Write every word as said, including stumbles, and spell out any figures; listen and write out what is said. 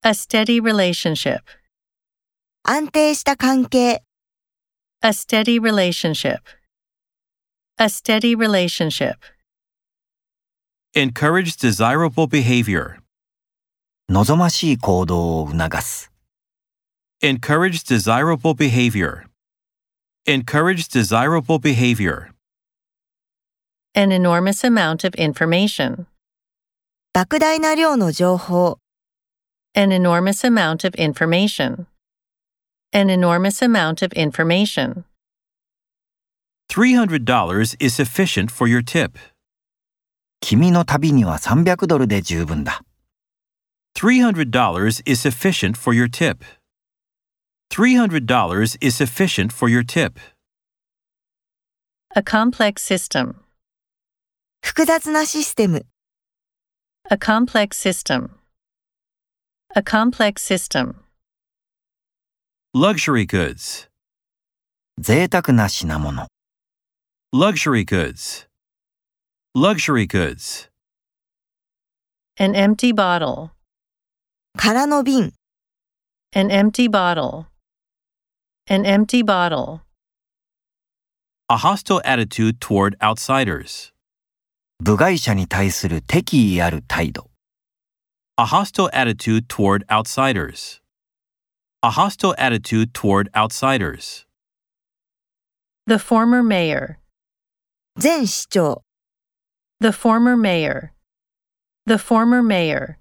A steady relationship. 安定した関係。 A steady relationship. A steady relationship. Encourage desirable behavior. 望ましい行動を促す。 Encourage desirable behavior. Encourage desirable behavior. An enormous amount of information. 莫大な量の情報。 An enormous amount of information. An enormous amount of information. three hundred dollars is sufficient for your tip. 君の旅にはさんびゃくドルで十分だ。 three hundred dollars is sufficient for your tip. three hundred dollars is sufficient for your tip. A complex system. 複雑なシステム。 A complex system. A complex system. Luxury goods. 贅沢な品物。 Luxury goods. Luxury goods. An empty bottle. 空の瓶。 An empty bottle. An empty bottle. A hostile attitude toward outsiders. 部外者に対する敵意ある態度。 A hostile attitude toward outsiders. A hostile attitude toward outsiders. The former mayor. 前市長。 The former mayor. The former mayor.